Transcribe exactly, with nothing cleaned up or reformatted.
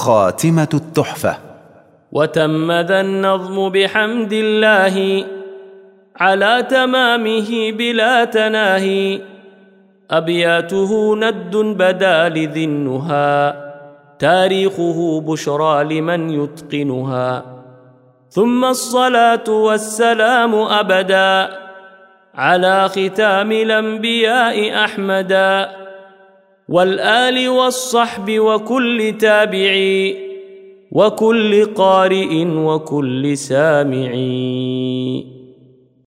خاتمة التحفة. وتم ذا النظم بحمد الله على تمامه بلا تناهي، أبياته ند بدا لذي النهى، تاريخه بشرى لمن يتقنها. ثم الصلاة والسلام أبدا على ختام الأنبياء أحمدا، والآل والصحب وكل تابعي وكل قارئ وكل سامعي.